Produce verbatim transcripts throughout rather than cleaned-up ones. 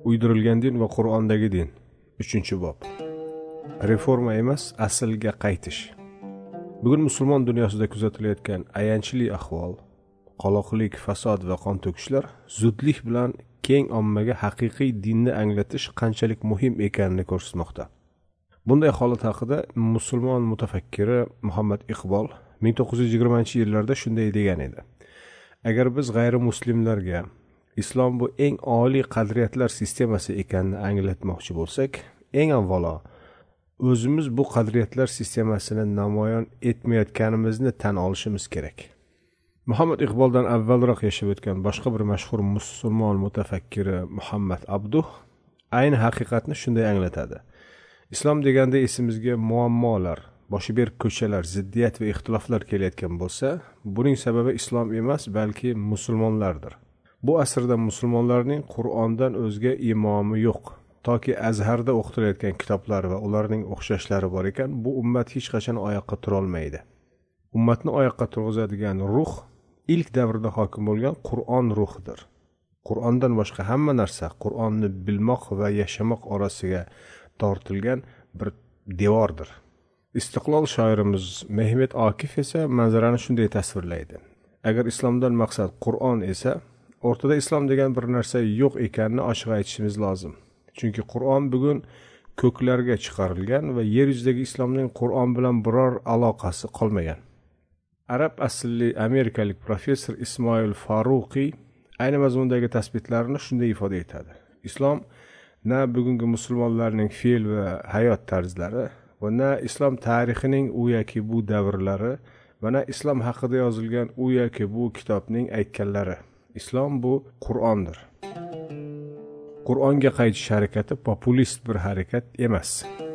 Uydirilgan din va Qur'ondagi din. uchinchi bob. Reforma emas, aslga qaytish. Bugun musulmon dunyosida kuzatilayotgan ayanchli ahvol, qoloqlik, fasod va qon to'kishlar zudlik bilan keng ommaga haqiqiy dinni anglatish qanchalik muhim ekanini ko'rsatmoqda. Bunday holat haqida musulmon mutafakkiri Muhammad Iqbol ming to'qqiz yuz yigirmanchi yillarda shunday degan edi: agar biz g'ayrimuslimlarga islom bu eng oliy qadriyatlar sistemasi ekanini anglatmoqchi bo'lsak, eng avvalo o'zimiz bu qadriyatlar sistemasini namoyon etmayotganimizni tan olishimiz kerak. Muhammad Iqboldan avvalroq yashab o'tgan boshqa bir mashhur musulmon mutafakkiri Muhammad Abduh ayni haqiqatni shunday anglatadi. Islom deganda esimizga muammolar, boshi berk ko'chalar, ziddiyat va ixtiloflar kelayotgan bo'lsa, buning sababi islom emas, balki musulmonlardir. Bu asrda musulmonlarning Qur'ondan o'zga imomi yo'q. Toki Azharda o'qitilayotgan kitoblar va ularning o'xshashlari bor ekan, bu ummat hech qachon oyoqqa tura olmaydi. Ummatni oyoqqa turg'izadigan ruh ilk davrda hokim bo'lgan Qur'on ruhidir. Qur'ondan boshqa hamma narsa Qur'onni bilmoq va yashamoq orasiga tortilgan bir devordir. Istiqlol shoirimiz Mehmet Akif esa manzarani shunday tasvirlaydi: agar islomdan maqsad Qur'on esa, o'rtada islom degan bir narsa yo'q ekanini ochiq aytishimiz lozim. Chunki Qur'on bugun ko'klarga chiqarilgan va yer yuzidagi islomning Qur'on bilan biror aloqasi qolmagan. Arab aslli amerikalik professor Ismoil Faruqiy ayni mazmundagi tasbitlarini shunday ifoda etadi: islom na bugungi musulmonlarning fe'l va hayot tarzlari va na islom tarixining u yoki bu davrlari va na islom haqida yozilgan u yoki bu kitobning aytganlari. Islom bu Qur'ondir. Qur'onga qaytish harakati populist bir harakat emas.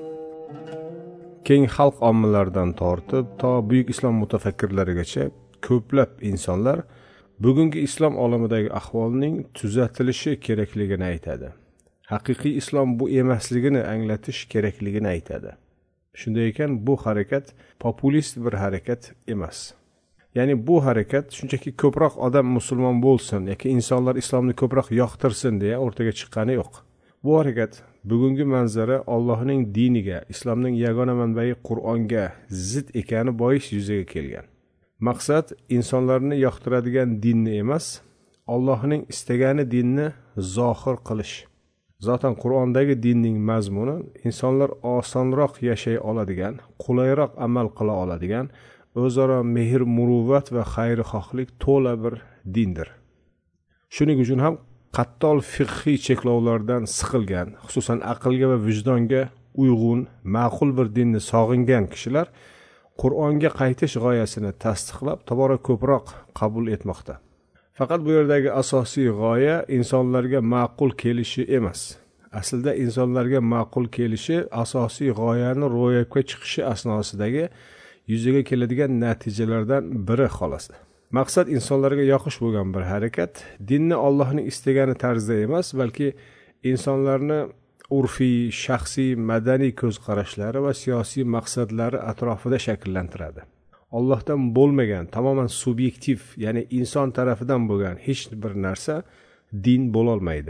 Keng xalq ommalaridan tortib to buyuk islom mutafakkirlarigacha ko'plab insonlar bugungi islom olamidagi ahvolning tuzatilishi kerakligini aytadi. Haqiqiy islom bu emasligini anglatish kerakligini aytadi. Shunday ekan, bu harakat populist bir harakat emas. Ya'ni bu harakat shunchaki ko'proq odam musulmon bo'lsin yoki insonlar islomni ko'proq yoqtirsin deya o'rtaga chiqqani yo'q. Bu harakat bugungi manzara Allohning diniga, islomning yagona manbai Qur'onga zid ekani bois yuzaga kelgan. Maqsad insonlarni yoqtiradigan dinni emas, Allohning istagani dinni zohir qilish. Zotan Qur'ondagi dinning mazmuni insonlar osonroq yashay oladigan, qulayroq amal qila oladigan, o'zaro mehr, muruvvat va xayrixohlik to'la bir dindir. Shuning uchun ham qattol fiqhiy cheklovlardan siqilgan, xususan aqlga va vijdonga uyg'un, ma'qul bir dinni sog'ingan kishilar Qur'onga qaytish g'oyasini tasdiqlab, tobora ko'proq qabul etmoqda. Faqat bu yerdagi asosiy g'oya insonlarga ma'qul kelishi emas. Aslida insonlarga ma'qul kelishi asosiy g'oyani ro'yobga chiqishi asnosidagi yuzaga keladigan natijalardan biri xolos. Maqsad insonlarga yoqish bo'lgan bir harakat, dinni Allohning istagani tarzda emas, balki insonlarni urfiy, shaxsiy, madaniy ko'z qarashlari va siyosiy maqsadlari atrofida shakllantiradi. Allohdan bo'lmagan, tamoman subyektiv, ya'ni inson tarafidan bo'lgan hech bir narsa din bo'la olmaydi.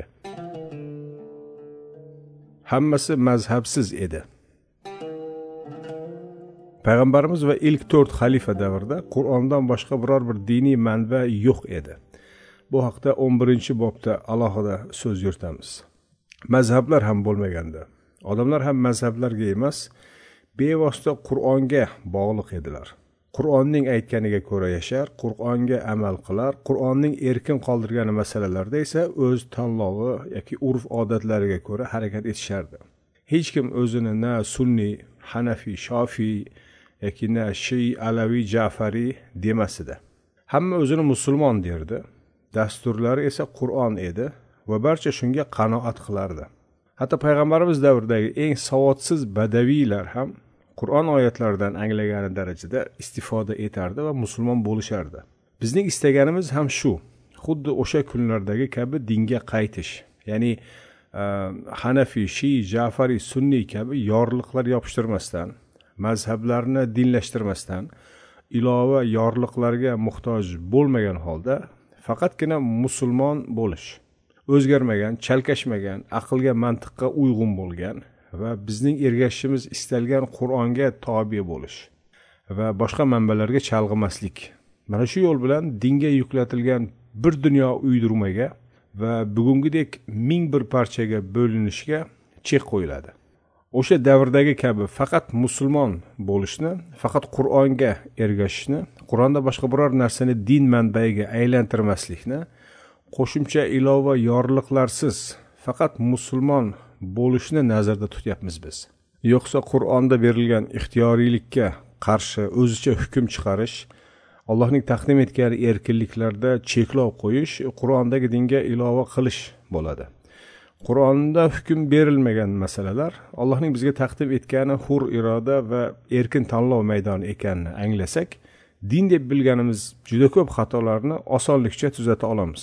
Hammasi mazhabsiz edi. Payg'ambarimiz va ilk to'rt xalifa davrida Qur'ondan boshqa biror bir diniy manba yo'q edi. Bu haqda o'n birinchi bobda alohida so'z yuritamiz. Mazhablar ham bo'lmaganda, odamlar ham mazhablarga emas, bevosita Qur'onga bog'liq edilar. Qur'onning aytganiga ko'ra yashar, Qur'onga amal qilar, Qur'onning erkin qoldirgan masalalarda esa o'z tanlovi yoki urf-odatlariga ko'ra harakat etishardi. Hech kim o'zini na sunniy, hanafi, shofiy yoki na shiy, alaviy, ja'fariy demasdi. Hamma o'zini musulmon derdi. Dasturlari esa Qur'on edi va barcha shunga qanoat qilardi. Hatto payg'ambarimiz davridagi eng savodsiz badaviylar ham Qur'on oyatlaridan anglagani darajada istifoda etardi va musulmon bo'lishardi. Bizning istaganimiz ham shu. Xuddi o'sha kunlardagi kabi dinga qaytish. Ya'ni Hanafi, Shiy, Ja'fari, Sunniy kabi yorliqlar yopishtirmasdan, mazhablarni dinlashtirmasdan, ilova yorliqlarga muhtoj bo'lmagan holda faqatgina musulmon bo'lish. o'zgarmagan, chalkashmagan, aqlga, mantiqqa uyg'un bo'lgan va bizning ergashishimiz istalgan Qur'onga tobe bo'lish va boshqa manbalarga chalg'imaslik. Mana shu yo'l bilan dinga yuklatilgan bir dunyo uydirmaga va bugungidek ming bir parchaga bo'linishga chek qo'yiladi. O'sha davrdagi kabi faqat musulmon bo'lishni, faqat Qur'onga ergashishni, Qur'onda boshqa biror narsani din manbaiga aylantirmaslikni, qo'shimcha ilova yorliqlarsiz faqat musulmon bo'lishni nazarda tutyapmiz biz. Yo'qsa Qur'onda berilgan ixtiyoriylikka qarshi o'zicha hukm chiqarish, Allohning taqdim etgan erkinliklarda cheklov qo'yish, Qur'ondagi dinga ilova qilish bo'ladi. Qur'onda hukm berilmagan masalalar Allohning bizga taqdim etgani hur iroda va erkin tanlov maydoni ekanini anglasak, din deb bilganimiz juda ko'p xatolarni osonlikcha tuzata olamiz.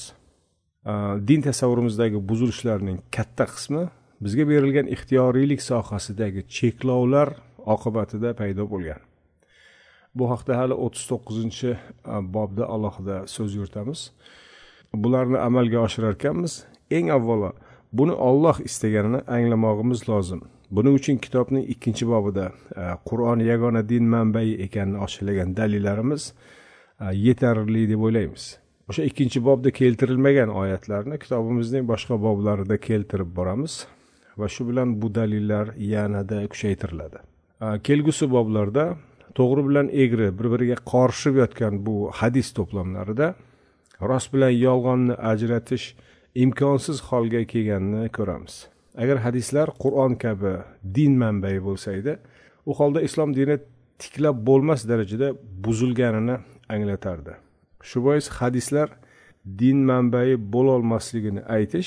Din tasavvurimizdagi buzilishlarning katta qismi bizga berilgan ixtiyoriylik sohasidagi cheklovlar oqibatida paydo bo'lgan. Bu haqda hali o'ttiz to'qqizinchi bobda alohida so'z yuritamiz. Bularni amalga oshirar ekanmiz. Eng avvalo buni Alloh istaganini anglamog'imiz lozim. Buning uchun kitobning ikkinchi bobida Qur'on yagona din manbai ekanini oshirlagan dalillarimiz yetarli deb o'ylaymiz. O'sha ikkinchi bobda keltirilmagan oyatlarni kitobimizning boshqa boblarida keltirib boramiz va shu bilan bu dalillar yanada kuchaytiriladi. Kelgusi boblarda to'g'ri bilan egri bir-biriga qorishib yotgan bu hadis to'plamlarida rost bilan yolg'onni ajratish imkonsiz holga kelganini ko'ramiz. Agar hadislar Qur'on kabi din manbai bo'lsa edi, u holda islom dini tiklab bo'lmas darajada buzilganini anglatardi. Shu bois hadislar din manbai bo'la olmasligini aytish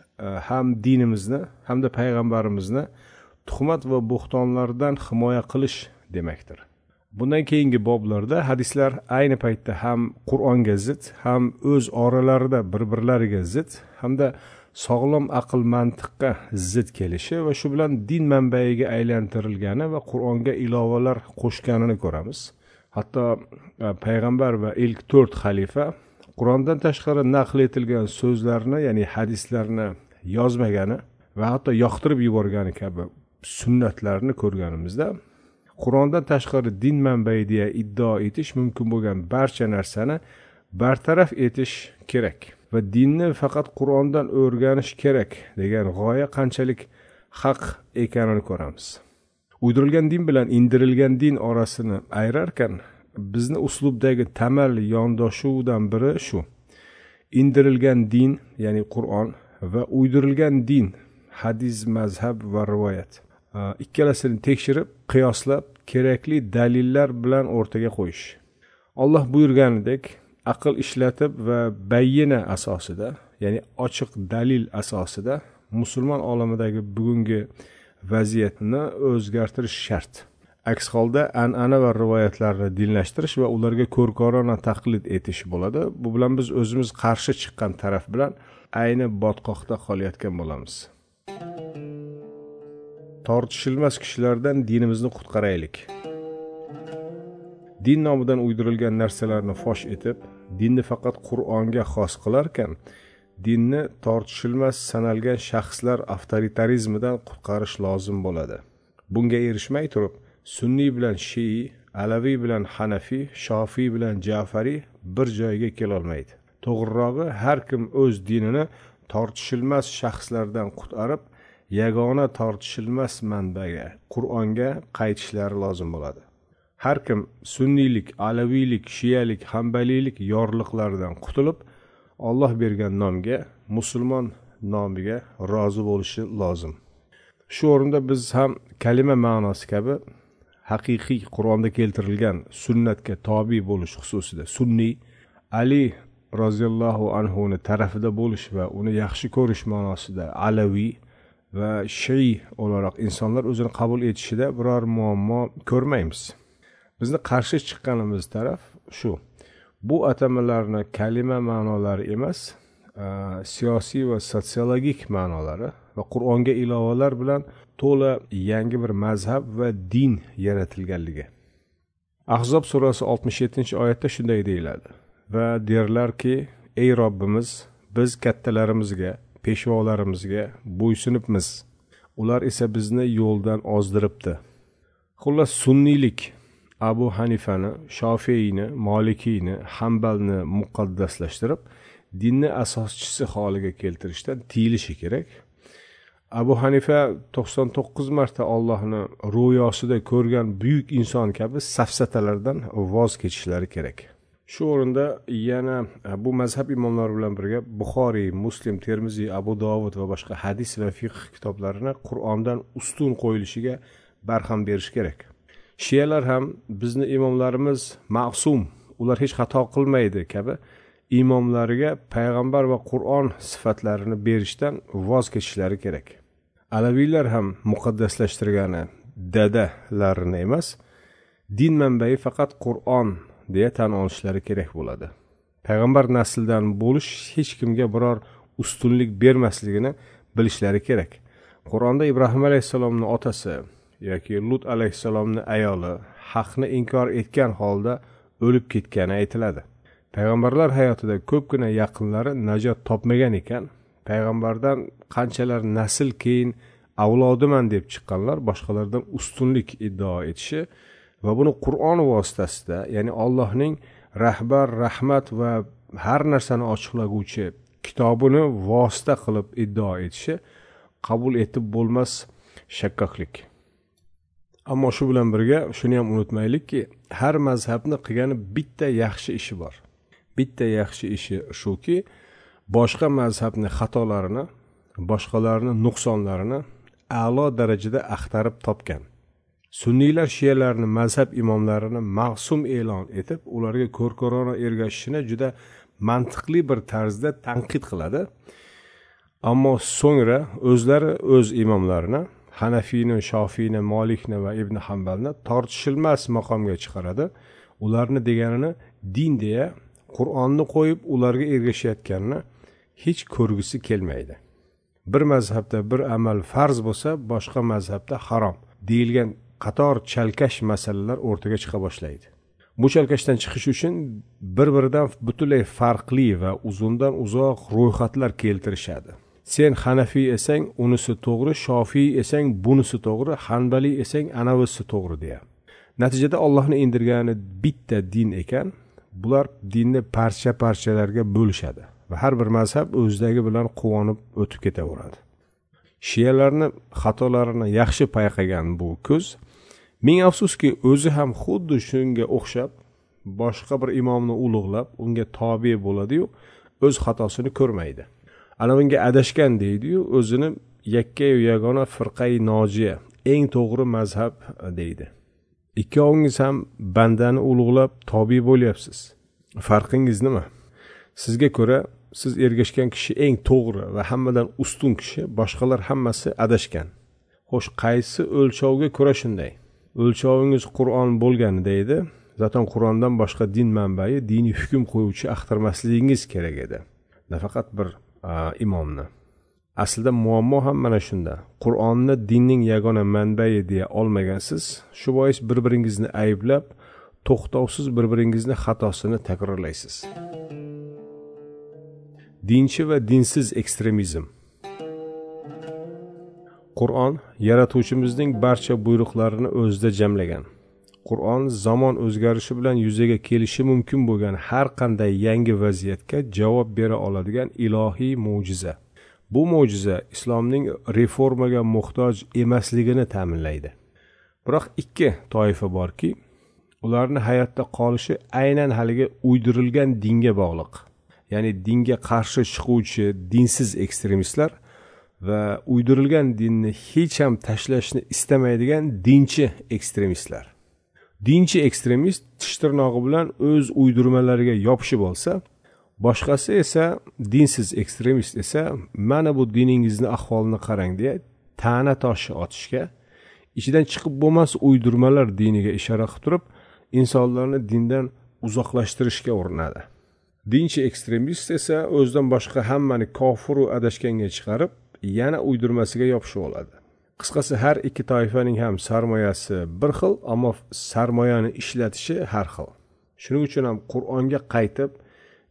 ham dinimizni hamda payg'ambarimizni tuhmat va bo'xtonlardan himoya qilish demakdir. Bundan keyingi boblarda hadislar ayni paytda ham Qur'onga zid, ham o'z oralarida bir-birlariga zid, hamda sog'lom aql mantiqqa zid kelishi va shu bilan din manbaiga aylantirilgani va Qur'onga ilovalar qo'shganini ko'ramiz. Hatto payg'ambar va ilk to'rt xalifa Qur'ondan tashqari naql etilgan so'zlarni, ya'ni hadislarni yozmagani va hatto yoqtirib yuborgani kabi sunnatlarni ko'rganimizda, Qur'ondan tashqari din manbai deya iddao etish mumkin bo'lgan barcha narsani bartaraf etish kerak va dinni faqat Qur'ondan o'rganish kerak degan g'oya qanchalik haq ekanini ko'ramiz. Uydirilgan din bilan indirilgan din orasini ayirarkan, bizni uslubdagi tamal yondoshuvdan biri shu. Indirilgan din, ya'ni Qur'on va uydirilgan din, hadis, mazhab va rivoyat. Ikkalasini tekshirib, qiyoslab, kerakli dalillar bilan o'rtaga qo'yish. Alloh buyurganidek aql ishlatib va bayyina asosida, ya'ni ochiq dalil asosida musulmon olamidagi bugungi vaziyatni o'zgartirish shart. Aks holda an'ana va rivoyatlarni dinlashtirish va ularga ko'rkorona taqlid etish bo'ladi. Bu bilan biz o'zimiz qarshi chiqqan taraf bilan ayni botqoqda qolayotgan bo'lamiz. Tortishilmas kishilardan dinimizni qutqaraylik. Din nomidan uydirilgan narsalarni fosh etib, dinni faqat Qur'onga xos qilarkan, dinni tortishilmas sanalgan shaxslar avtoritarizmidan qutqarish lozim bo'ladi. Bunga erishmay turib, Sunniy bilan Shi'i, Alaviy bilan Hanafiy, Shofiy bilan Ja'fariy bir joyga kela olmaydi. To'g'rirog'i, har kim o'z dinini tortishilmas shaxslardan qutqarib, yagona tortishilmas manbaga, Qur'onga qaytishlari lozim bo'ladi. Har kim sunniylik, alaviylik, shiyalik, hanbaliylik yorliqlaridan qutulib, Alloh bergan nomga, musulmon nomiga rozi bo'lishi lozim. Shu o'rinda biz ham kalima ma'nosi kabi haqiqiy Qur'onda keltirilgan sunnatga tobe bo'lish xususida sunniy, Ali roziyallohu anhu ni tarafida bo'lish va uni yaxshi ko'rish ma'nosida alaviy va Shi'i o'laroq insonlar o'zini qabul etishida biror muammo ko'rmaymiz. Bizni qarshi chiqqanimiz taraf shu. Bu atamalarni kalima ma'nolari emas, siyosiy va sotsiologik ma'nolari va Qur'onga ilovalar bilan to'la yangi bir mazhab va din yaratilganligi. Ahzob surasi oltmish yettinchi oyatda shunday deyiladi: va derlarki, ey Robbimiz, biz kattalarimizga, peshvolarimizga bo'ysunibmiz. Ular esa bizni yo'ldan ozdiribdi. Xullas, sunniylik Abu Hanifani, Shofiyni, Malikiyni, Hanbalni muqaddaslashtirib, dinni asoschisi holiga keltirishdan tiyilishi kerak. Abu Hanifa to'qson to'qqiz marta Allohni ro'yosida ko'rgan buyuk inson kabi safsatalardan voz kechishlari kerak. Shu o'rinda yana bu mazhab imomlari bilan birga Buxoriy, Muslim, Termiziy, Abu Dovud va boshqa hadis va fiqh kitoblarini Qur'ondan ustun qo'yilishiga barham berish kerak. Shiyalar ham bizni imomlarimiz ma'sum, ular hech xato qilmaydi kabi imomlariga payg'ambar va Qur'on sifatlarini berishdan voz kechishlari kerak. Alaviylar ham muqaddaslashtirgani dadalarini emas, din manbai faqat Qur'on deya tan olishlari kerak bo'ladi. Payg'ambar nasldan bo'lish hech kimga biror ustunlik bermasligini bilishlari kerak. Qur'onda Ibrohim alayhisalomning otasi yoki Lut alayhisalomning ayoli haqni inkor etgan holda o'lib ketgani aytiladi. Payg'ambarlar hayotida ko'pgina yaqinlari najot topmagan ekan, payg'ambardan qanchalar nasl keyin avlodiman deb chiqqanlar boshqalardan ustunlik iddao etishi va buni Qur'on vositasida, ya'ni Allohning rahbar, rahmat va har narsani ochiqlaguvchi kitobini vosita qilib iddao etishi qabul etib bo'lmas shakkoklik. Ammo shu bilan birga shuni ham unutmaylikki, har mazhabni qilgani bitta yaxshi ishi bor. Bitta yaxshi ishi shuki, boshqa mazhabni xatolarini, boshqalarning nuqsonlarini a'lo darajada axtarib topgan. Sunniylar shiyalarni mazhab imomlarini ma'sum e'lon etib, ularga ko'rkorona ergashishini juda mantiqli bir tarzda tanqid qiladi. Ammo so'ngra o'zlari o'z imomlarini, Hanafiyni, Shofiyni, Malikni va Ibn Hanbalni tortishilmas maqomga chiqaradi. Ularni deganini din deya Qur'onni qo'yib ularga ergashayotganini hech ko'rgisi kelmaydi. Bir mazhabda bir amal farz bo'lsa, boshqa mazhabda harom deyilgan qator chalkash masalalar o'rtaga chiqa boshlaydi. Bu chalkashdan chiqish uchun bir-biridan butunlay farqli va uzundan uzoq ro'yxatlar keltirishadi. Sen Hanafiy esang, unisi to'g'ri, Shofiy esang, bunisi to'g'ri, Hanbali esang, anavisi to'g'ri deya. Natijada Allohning indirgani bitta din ekan, bular dinni parcha-parchalarga bo'lishadi va har bir mazhab o'zidagi bilan quvonib o'tib ketaveradi. Shiyalarni xatolarini yaxshi payqagan bu ko'z, ming afsuski o'zi ham xuddi shunga o'xshab boshqa bir imomni ulug'lab, unga tobe bo'ladi-yu, o'z xatosini ko'rmaydi. Ana bunga adashgan deydi-yu, o'zini yakka-yu yagona firqai nojiya, eng to'g'ri mazhab deydi. Ikkovingiz ham bandani ulug'lab tobe bo'lyapsiz. Farqingiz nima? Sizga ko'ra siz ergashgan kishi eng to'g'ri va hammadan ustun kishi, boshqalar hammasi adashgan. Xo'sh, qaysi o'lchovga ko'ra shunday? O'lchovingiz Qur'on bo'lganida edi, zaten Qur'ondan boshqa din manbai, diniy hukm qo'yuvchi axtarmasligingiz kerak edi. Nafaqat bir a, imomni. Aslida muammo ham mana shunda. Qur'onni dinning yagona manbai deya olmagansiz, shu bois bir-biringizni ayblab, to'xtovsiz bir-biringizni xatosini takrorlaysiz. Dinchi va dinsiz ekstremizm. Qur'on yaratuvchimizning barcha buyruqlarini o'zida jamlagan. Qur'on zamon o'zgarishi bilan yuzaga kelishi mumkin bo'lgan har qanday yangi vaziyatga javob bera oladigan ilohiy mo'jiza. Bu mo'jiza islomning reformaga muhtoj emasligini ta'minlaydi. Biroq ikki toifa borki, ularni hayotda qolishi aynan haligi uydirilgan dinga bog'liq. Ya'ni dinga qarshi chiquvchi dinsiz ekstremistlar va uydirilgan dinni hech ham tashlashni istamaydigan dinchi ekstremistlar. Dinchi ekstremist tish tirnog'i bilan o'z uydirmalariga yopishib olsa, boshqasi esa dinsiz ekstremist esa mana bu diningizni ahvolini qarang deya ta'na toshi otishga, ichidan chiqib bo'lmas uydirmalar diniga ishora qilib turib, insonlarni dindan uzoqlashtirishga urinadi. Dinchi ekstremist esa o'zidan boshqa hammani kofir va adashganga chiqarib, yana uydirmasiga yopishib oladi. Qisqasi, har ikki toifaning ham sarmoyasi bir xil, ammo sarmoyani ishlatishi har xil. Shuning uchun ham Qur'onga qaytib,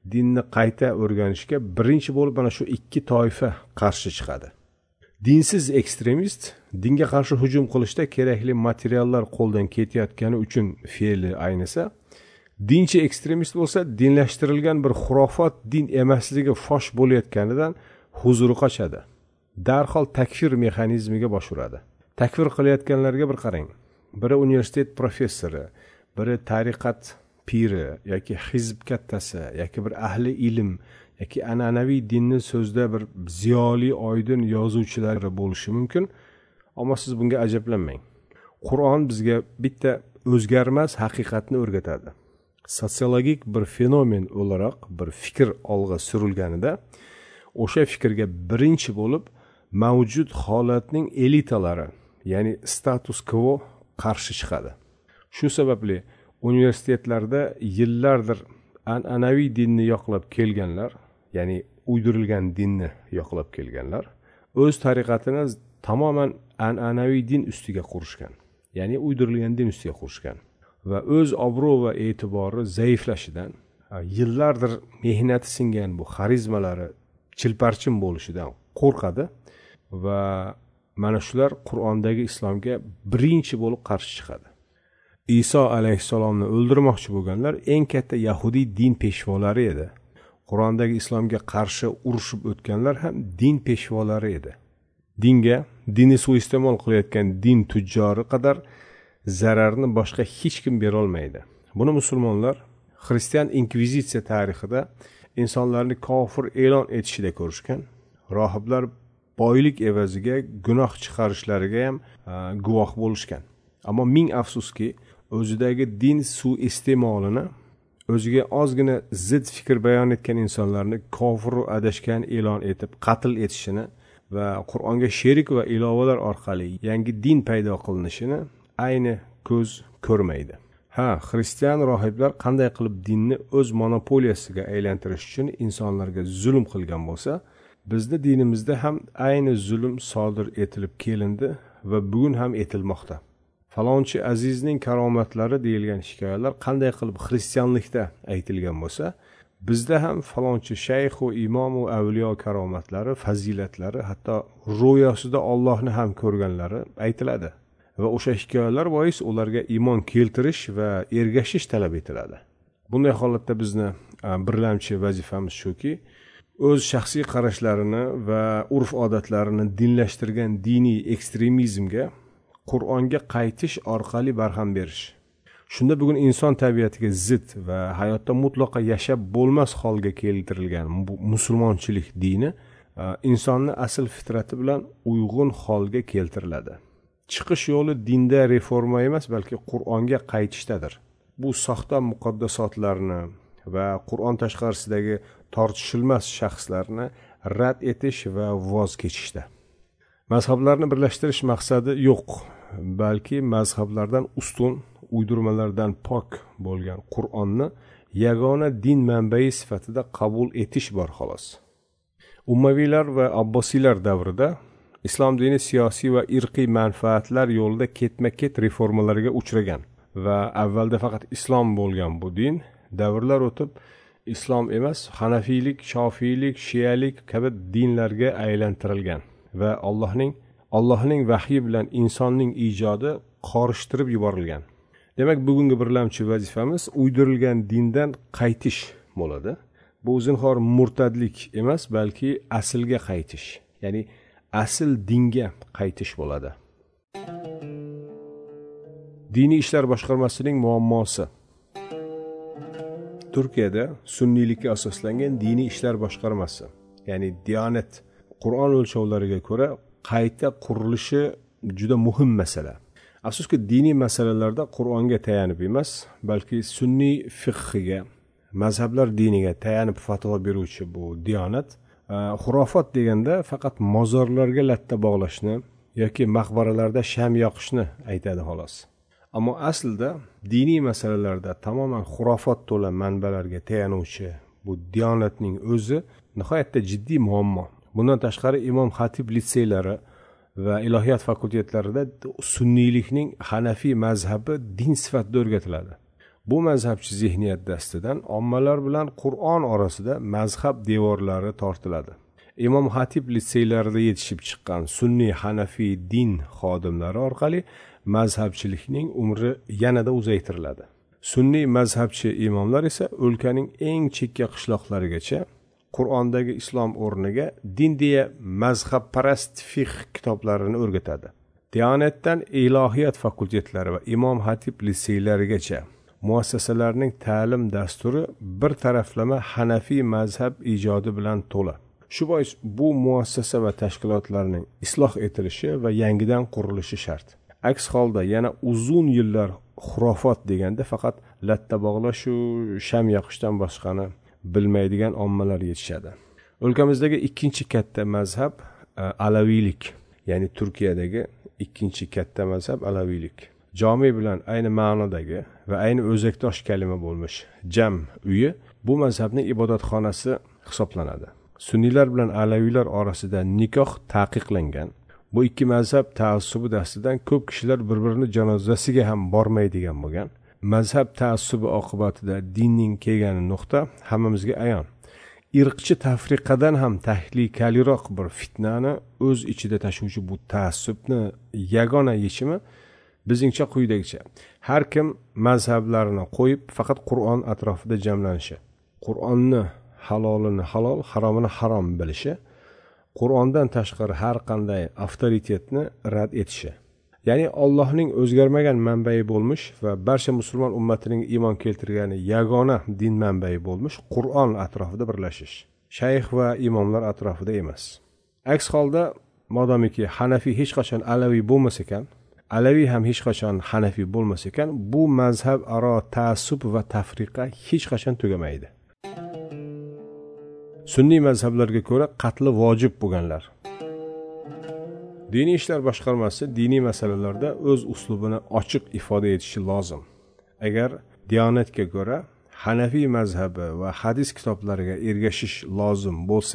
dinni qayta o'rganishga birinchi bo'lib mana shu ikki toifa qarshi chiqadi. Dinsiz ekstremist dinga qarshi hujum qilishda kerakli materiallar qo'ldan ketayotgani uchun fe'li aynisa, dinchi ekstremist bo'lsa dinlashtirilgan bir xurofot din emasligi fosh bo'layotganidan huzuri qochadi. Darhol takfir mexanizmiga bosh uradi. Takfir qilayotganlarga bir qarang. Biri universitet professori, biri tariqat piri yoki hizb kattasi yoki bir ahli ilm yoki an'anaviy dinni so'zda bir ziyoli oydin yozuvchilar bo'lishi mumkin. Ammo siz bunga ajablanmang. Qur'on bizga bitta o'zgarmas haqiqatni o'rgatadi. Sotsiologik bir fenomen o'laroq bir fikr olg'a surilganida o'sha fikrga birinchi bo'lib mavjud holatning elitalari, ya'ni status quo qarshi chiqadi. Shu sababli universitetlarda yillardir an'anaviy dinni yoqlab kelganlar, ya'ni uydirilgan dinni yoqlab kelganlar, o'z tariqatini tamoman an'anaviy din ustiga qurishgan, ya'ni uydirilgan din ustiga qurishgan va o'z obro' va e'tibori zaiflashidan, yillardir mehnati singan bu xarizmalari chilparchin bo'lishidan qo'rqadi va mana shular Qur'ondagi islomga birinchi bo'lib qarshi chiqadi. Iso alayhissalomni o'ldirmoqchi bo'lganlar eng katta yahudiy din peshvolari edi. Qur'ondagi islomga qarshi urushib o'tganlar ham din peshvolari edi. Dinga, dinni suiiste'mol qilayotgan din tujjori qadar zararni boshqa hech kim bera olmaydi. Buni musulmonlar xristian inkvizitsiya tarixida insonlarni kofir e'lon etishida ko'rishgan. Rohiblar boylik evaziga gunoh chiqarishlariga ham guvoh bo'lishgan. Ammo ming afsuski, o'zidagi din suiiste'molini, o'ziga ozgina zid fikr bayon etgan insonlarni kofir va adashgan e'lon etib qatl etishini va Qur'onga sherik va ilovalar orqali yangi din paydo qilinishini ayni ko'z ko'rmaydi. Ha, xristian rohiblar qanday qilib dinni o'z monopoliyasiga aylantirish uchun insonlarga zulm qilgan bo'lsa, bizning dinimizda ham ayni zulm sodir etilib kelindi va bugun ham etilmoqda. Falonchi azizning karomatlari deyilgan hikoyalar qanday qilib xristianlikda aytilgan bo'lsa, bizda ham falonchi shayx va imom va avliyo karomatlari, fazilatlari, hatto ro'yosida Allohni ham ko'rganlari aytiladi. Va o'sha hikoyalar bois ularga iymon keltirish va ergashish talab etiladi. Bunday holatda bizni birlamchi vazifamiz shuki, o'z shaxsiy qarashlarini va urf-odatlarini dinlashtirgan diniy ekstremizmga Qur'onga qaytish orqali barham berish. Shunda bugun inson tabiatiga zid va hayotda mutlaqo yashab bo'lmas holga keltirilgan musulmonchilik dini insonni asl fitrati bilan uyg'un holga keltiriladi. Chiqish yo'li dinda reforma emas, balki Qur'onga qaytishdadir. Bu soxta muqaddasotlarni va Qur'on tashqarisidagi tortishilmas shaxslarni rad etish va voz kechishda. Mazhablarni birlashtirish maqsadi yo'q, balki mazhablardan ustun, uydirmalardan pok bo'lgan Qur'onni yagona din manbai sifatida qabul etish bor xolos. Ummaviylar va Abbosiylar davrida islom dini siyosiy va irqiy manfaatlar yo'lida ketma-ket reformalarga uchragan va avvalda faqat islom bo'lgan bu din davrlar o'tib islom emas, Hanafiylik, Shofiylik, Shiyalik kabi dinlarga aylantirilgan va Allohning Allohning vahyi bilan insonning ijodi qorishtirib yuborilgan. Demak, bugungi birlamchi vazifamiz uydirilgan dindan qaytish bo'ladi. Bu zinhor murtadlik emas, balki aslga qaytish, ya'ni asl dinga qaytish bo'ladi. Diniy ishlar boshqarmasining muammosi. Turkiyada sunniylikka asoslangan diniy ishlar boshqarmasi, ya'ni Diyonet, Qur'on o'lchovlariga ko'ra qayta qurilishi juda muhim masala. Afsuski, diniy masalalarda Qur'onga tayanib emas, balki sunniy fiqhiga, mazhablar diniga tayanib fatvo beruvchi bu Diyonet xurofot deganda faqat mozorlarga latta bog'lashni yoki maqbaralarda sham yoqishni aytadi xolos. Ammo aslida diniy masalalarda tamoman xurofot to'la manbalarga tayanuvchi bu Diyonatning o'zi nihoyatda jiddiy muammo. Bundan tashqari Imom Xatib litseylari va ilohiyat fakultetlarida sunniylikning Hanafiy mazhabi din sifatida o'rgatiladi. Bu mazhabchi zihniyat dastidan ommalar bilan Qur'on orasida mazhab devorlari tortiladi. Imom Xatib litseylarida yetishib chiqqan sunniy hanafiy din xodimlari orqali mazhabchilikning umri yanada uzaytiriladi. Sunniy mazhabchi imomlar esa o'lkaning eng chekka qishloqlarigacha Qur'ondagi islom o'rniga din deya mazhabparast fiqh kitoblarini o'rgatadi. Diyonatdan ilohiyat fakultetlari va Imom Xatib litseylarigacha muassasalarning ta'lim dasturi bir taraflama hanafiy mazhab ijodi bilan to'la. Shu bois bu muassasa va tashkilotlarning isloh etilishi va yangidan qurilishi shart. Aks holda yana uzun yillar xurofot deganda faqat latta bog'lash u sham yoqishdan boshqani bilmaydigan ommalar yetishadi. O'lkamizdagi ikkinchi katta mazhab alaviylik, ya'ni Turkiyadagi ikkinchi katta mazhab alaviylik. Jami bilan ayni ma'nodagi va ayni o'zakdosh kalima bo'lmish jam uyi bu mazhabning ibodatxonasi hisoblanadi. Sunniylar bilan alaviylar orasida nikoh taqiqlangan. Bu ikki mazhab taassubi dastidan ko'p kishilar bir-birini janozasiga ham bormaydigan bo'lgan. Mazhab taassubi oqibatida dinning kelgani nuqta hammamizga ayon. Irqchi tafriqadan ham tahlikaliroq bir fitnani o'z ichida tashuvchi bu taassubni yagona yechimi bizingcha quyidagicha: har kim mazhablarini qo'yib faqat Qur'on atrofida jamlanishi, Qur'onni halolini halol, haromini harom bilishi, Qur'ondan tashqari har qanday avtoritetni rad etishi. Ya'ni Allohning o'zgarmagan manbai bo'lmish va barcha musulmon ummatining iymon keltirgani yagona din manbai bo'lmish Qur'on atrofida birlashish, shayx va imomlar atrofida emas. Aks holda modomiki Hanafiy hech qachon Alaviy bo'lmas ekan, Alaviy ham hech qachon Hanafiy bo'lmas ekan, bu mazhab aro taassub va tafriqa hech qachon tugamaydi. Sunniy mazhablarga ko'ra qatli vojib bo'lganlar. Diniy ishlar boshqarmasi diniy masalalarda o'z uslubini ochiq ifoda etishi lozim. Agar Diyonatga ko'ra Hanafiy mazhabi va hadis kitoblariga ergashish lozim bo'lsa,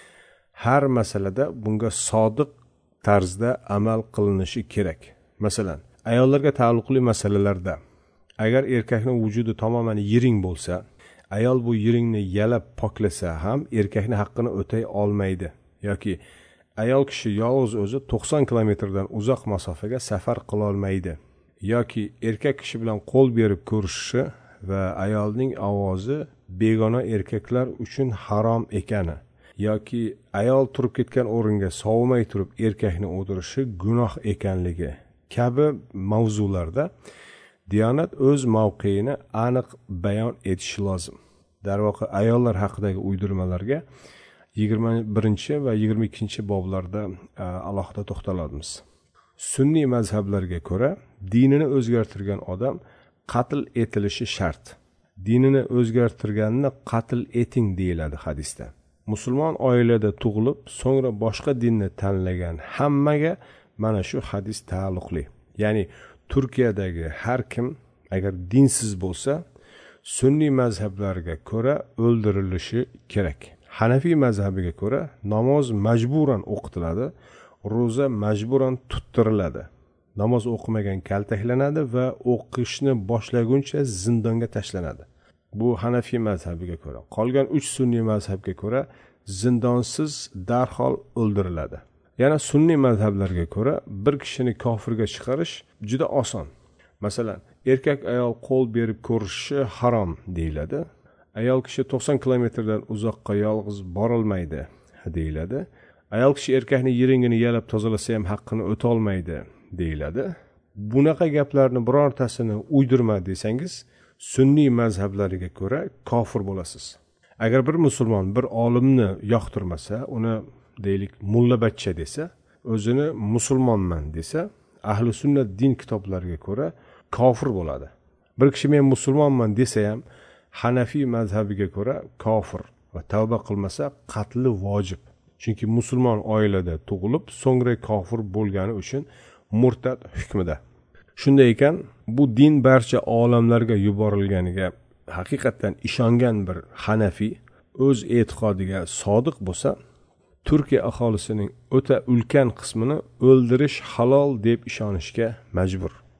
har masalada bunga sodiq tarzda amal qilinishi kerak. Masalan, ayollarga taalluqli masalalarda agar erkakning vujudi tamoman yiring bo'lsa, ayol bu yiringni yalab poklasa ham erkakning haqqini o'tay olmaydi yoki ayol kishi yolg'iz o'zi to'qson kilometrdan uzoq masofaga safar qila olmaydi yoki erkak kishi bilan qo'l berib ko'rishishi va ayolning ovozi begona erkaklar uchun harom ekani yoki ayol turib ketgan o'ringa sovumay turib erkakni o'ldirishi gunoh ekanligi kabi mavzularda Diyonat o'z mavqeini aniq bayon etishi lozim. Darvoqe ayollar haqidagi uydirmalarga yigirma birinchi va yigirma ikkinchi boblarda alohida to'xtalamiz. Sunniy mazhablarga ko'ra dinini o'zgartirgan odam qatl etilishi shart. Dinini o'zgartirganni qatl eting deyiladi hadisda. Musulmon oilada tug'ilib, so'ngra boshqa dinni tanlagan hammaga mana shu hadis taalluqli. Ya'ni Turkiyadagi har kim agar dinsiz bo'lsa, sunniy mazhablarga ko'ra o'ldirilishi kerak. Hanafiy mazhabiga ko'ra namoz majburan o'qitiladi, ro'za majburan tuttiriladi. Namoz o'qimagan kaltaklanadi va o'qishni boshlaguncha zindonga tashlanadi. Bu Hanafiy mazhabiga ko'ra. Qolgan uch sunniy mazhabga ko'ra zindonsiz darhol o'ldiriladi. Yana sunniy mazhablarga ko'ra bir kishini kofirga chiqarish juda oson. Masalan, erkak ayol qo'l berib ko'rishi harom deyiladi. Ayol kishi to'qson kilometrdan uzoqqa yolg'iz bora olmaydi deyiladi. Ayol kishi erkakning yiringini yalab tozalasa ham haqqini o'ta olmaydi deyiladi. Bunaqa gaplarni birortasini uydirma desangiz, sunniy mazhablariga ko'ra kofir bo'lasiz. Agar bir musulmon bir olimni yoqtirmasa, uni deylik mulla bachcha desa, o'zini musulmonman desa, ahli sunnat din kitoblariga ko'ra kofir bo'ladi. Bir kishi men musulmonman desa ham Hanafiy mazhabiga ko'ra kofir va tavba qilmasa qatli vojib. Chunki musulmon oilada tug'ilib, so'ngra kofir bo'lgani uchun murtad hukmida. Shunday ekan, bu din barcha olamlarga yuborilganiga haqiqatan ishongan bir Hanafiy o'z e'tiqodiga sodiq bo'lsa, Turkiya aholisining o'ta ulkan qismini o'ldirish halol deb ishonishga majbur.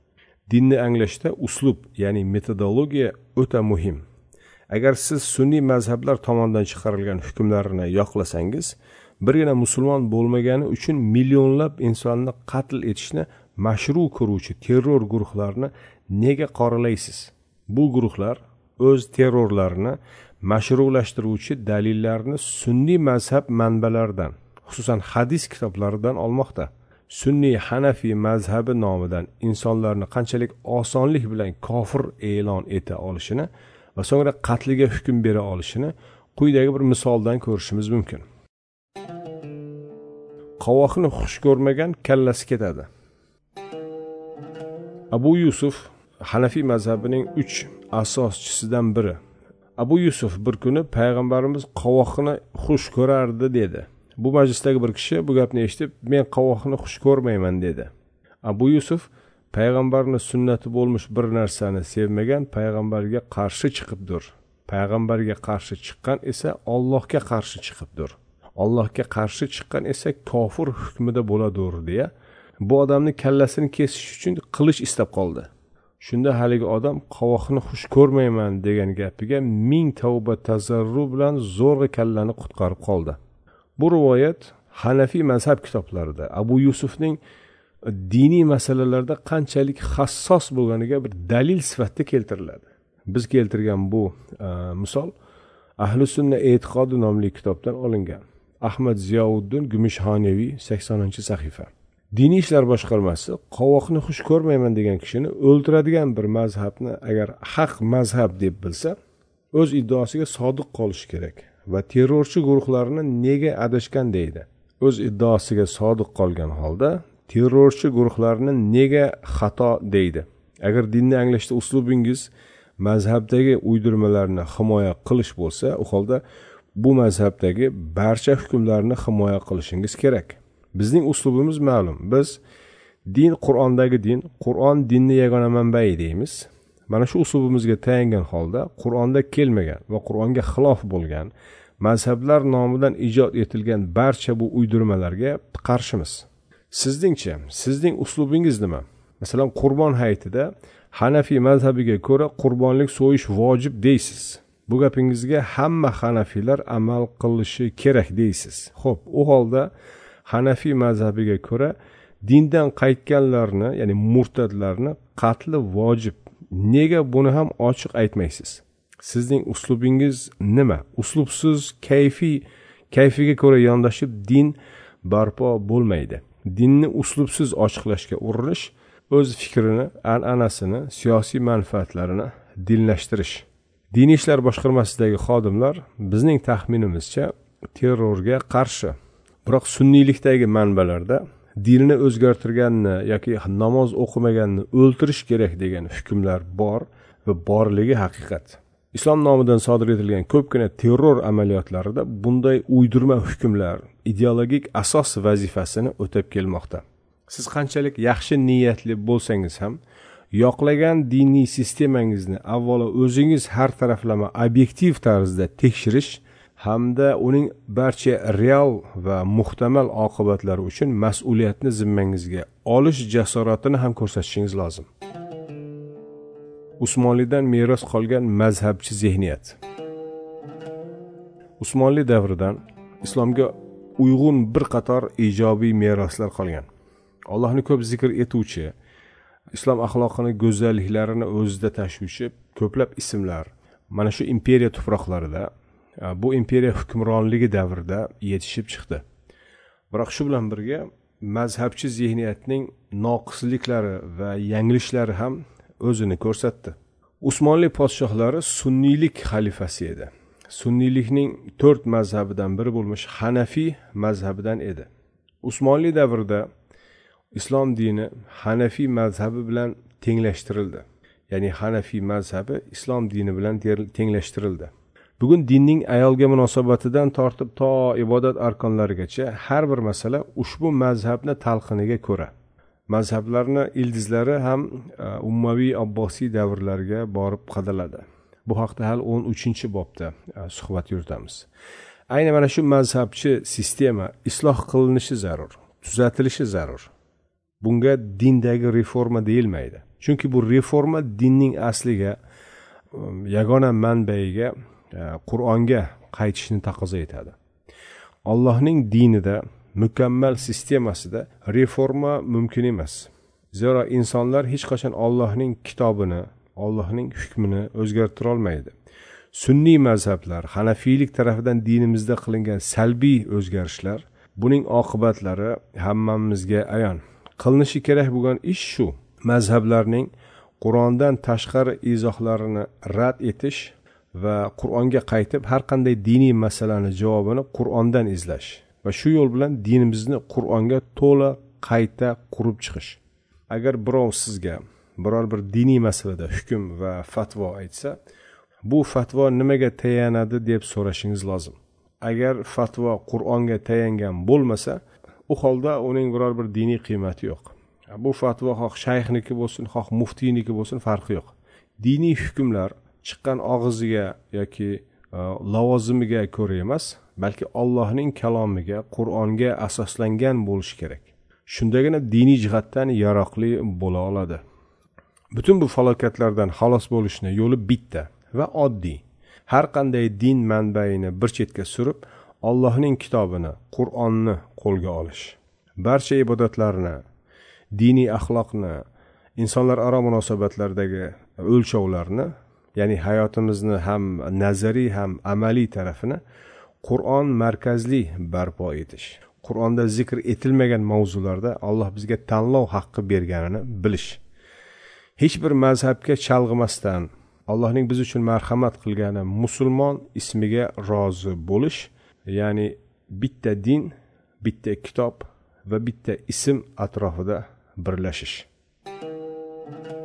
dinni anglashda uslub, ya'ni metodologiya o'ta muhim. Agar siz sunniy mazhablar tomonidan chiqarilgan hukmlarni yoqlasangiz, birgina musulmon bo'lmagani uchun millionlab insonni qatl etishni mashru ko'ruvchi terror guruhlarini nega qoralaysiz? Bu guruhlar o'z terrorlarini mashrulashtiruvchi dalillarni sunniy mazhab manbalaridan, xususan hadis kitoblaridan olmoqda. Sunniy Hanafiy mazhabi nomidan insonlarni qanchalik osonlik bilan kofir e'lon eta olishini va so'ngra qatliga hukm bera olishini quyidagi bir misoldan ko'rishimiz mumkin. Qovoqni xush ko'rmagan kallasi ketadi. Abu Yusuf Hanafiy mazhabining uch asoschisidan biri. Abu Yusuf bir kuni payg'ambarimiz qovoqni xush ko'rardi dedi. Bu majlisdagi bir kishi bu gapni eshitib, men qovoqni xush ko'rmayman dedi. Abu Yusuf payg'ambarning sunnati bo'lmuş bir narsani sevmagan payg'ambarga qarshi chiqibdir. Payg'ambarga qarshi chiqqan esa Allohga qarshi chiqibdir. Allohga qarshi chiqqan esa kofir hukmida bo'ladir deya bu odamning kallasini kesish uchun qilich istab qoldi. Shunda haligi odam qovoqni xush ko'rmayman degan gapiga ming tavba tazarru bilan zo'rg'a kallani qutqarib qoldi. Bu rivoyat Hanafiy mazhab kitoblarida Abu Yusufning diniy masalalarda qanchalik hassos bo'lganiga bir dalil sifatida keltiriladi. Biz keltirgan bu e, misol Ahli sunna e'tiqodi nomli kitobdan olingan. Ahmad Ziyauddin Gumishxonaviy saksoninchi sahifa. Diniy ishlar boshqarmasi qovoqni xush ko'rmayman degan kishini o'ldiradigan bir mazhabni agar haq mazhab deb bilsa, o'z iddaosiga sodiq qolishi kerak va terrorchi guruhlarni nega adashgan deydi. O'z iddaosiga sodiq qolgan holda terrorchi guruhlarni nega xato deydi. Agar dinni anglashda uslubingiz mazhabdagi uydirmalarni himoya qilish bo'lsa, u holda bu mazhabdagi barcha hukmlarni himoya qilishingiz kerak. Bizning uslubimiz ma'lum. Biz din Qur'ondagi din, Qur'on dinni yagona manbai deymiz. Mana shu uslubimizga tayangan holda Qur'onda kelmagan va Qur'onga xilof bo'lgan mazhablar nomidan ijod etilgan barcha bu uydirmalarga qarshimiz. Sizningcha, sizning uslubingiz nima? Masalan, Qurbon hayitida Hanafiy mazhabiga ko'ra qurbonlik so'yish vojib deysiz. Bu gapingizga hamma Hanafiylar amal qilishi kerak deysiz. Xo'p, u holda Hanafiy mazhabiga ko'ra dindan qaytganlarni, ya'ni murtadlarni qatli vojib. Nega buni ham ochiq aytmaysiz? Sizning uslubingiz nima? Uslubsiz kayfiy, kayfiga ko'ra yondashib din barpo bo'lmaydi. Dinni uslubsiz ochiqlashga urinish, o'z fikrini, an'anasini, siyosiy manfaatlarini dinlashtirish. Diniy ishlar boshqarmasidagi xodimlar bizning taxminimizcha terrorga qarshi. Biroq sunniylikdagi manbalarda dinni o'zgartirganni yoki namoz o'qimaganni o'ltirish kerak degan hukmlar bor va borligi haqiqat. Islom nomidan sodir etilgan ko'pgina terror amaliyotlarida bunday uydirma hukmlar ideologik asos vazifasini o'tab kelmoqda. Siz qanchalik yaxshi niyatli bo'lsangiz ham, yoqlagan diniy sistemangizni avvalo o'zingiz har taraflama obyektiv tarzda tekshirish hamda uning barcha real va muhtamal oqibatlari uchun mas'uliyatni zimmangizga olish jasoratini ham ko'rsatishingiz lozim. Usmonlidan meros qolgan mazhabchi zihniyat. Usmonli davridan islomga uyg'un bir qator ijobiy meroslar qolgan. Allohni ko'p zikr etuvchi, islom axloqini go'zalliklarini o'zida tashuvchi ko'plab ismlar mana shu imperiya tuproqlarida, bu imperiya hukmronligi davrida yetishib chiqdi. Biroq shu bilan birga mazhabchi zihniyatning noqisliklari va yangilishlari ham o'zini ko'rsatdi. Usmonli podshohlari sunniylik xalifasi edi. Sunniylikning to'rt mazhabidan biri bo'lmuş Hanafiy mazhabidan edi. Usmonli davrida islom dini Hanafiy mazhabi bilan tenglashtirildi. Ya'ni Hanafiy mazhabi islom dini bilan tenglashtirildi. Bugun dinning ayolga munosabatidan tortib to ibodat arkonlarigacha har bir masala ushbu mazhabni talqiniga ko'ra. Mazhablarning ildizlari ham ummaviy abbosiy davrlarga borib qadaladi. Bu haqda hal o'n uchinchi bobda suhbat yuritamiz. Ayni mana shu mazhabchi sistema isloh qilinishi zarur, tuzatilishi zarur. Bunga dindagi reforma deyilmaydi. chunki bu reforma dinning asliga, yagona manbaiga, Qur'onga qaytishni taqozo etadi. Allohning dinida, mukammal sistemasida reforma mumkin emas. Zero insonlar hech qachon Allohning kitobini, Allohning hukmini o'zgartira olmaydi. Sunniy mazhablar, Hanafiylik tarafidan dinimizda qilingan salbiy o'zgarishlar, buning oqibatlari hammamizga ayon. Qilinishi kerak bo'lgan ish shu: mazhablarning Qur'ondan tashqari izohlarini rad etish va Qur'onga qaytib har qanday diniy masalani javobini Qur'ondan izlash va shu yo'l bilan dinimizni Qur'onga to'la qayta qurib chiqish. Agar birov sizga biror bir diniy masalada hukm va fatvo aytsa, bu fatvo nimaga tayanadi deb so'rashingiz lozim. Agar fatvo Qur'onga tayangan bo'lmasa, u holda uning biror bir diniy qiymati yo'q. Bu fatvo xoh shayxniki bo'lsin, xoh muftiyniki bo'lsin, farqi yo'q. Diniy hukmlar chiqqan og'iziga yoki lavozimiga ko'ra emas, balki Allohning kalomiga, Qur'onga asoslangan bo'lishi kerak. Shundagina diniy jihatdan yaroqli bo'la oladi. Butun bu falokatlardan xalos bo'lishni yo'li bitta va oddiy. Har qanday din manbaini bir chetga surib, Allohning kitobini, Qur'onni qo'lga olish. Barcha ibodatlarni, diniy axloqni, insonlar aro munosabatlardagi o'lchovlarni, ya'ni hayotimizni ham nazariy ham amaliy tarafini Qur'on markazli barpo etish. Qur'onda zikr etilmagan mavzularda Alloh bizga tanlov haqqi berganini bilish. Hech bir mazhabga chalg'imasdan Allohning biz uchun marhamat qilgani musulmon ismiga rozi bo'lish, ya'ni bitta din, bitta kitob va bitta ism atrofida birlashish.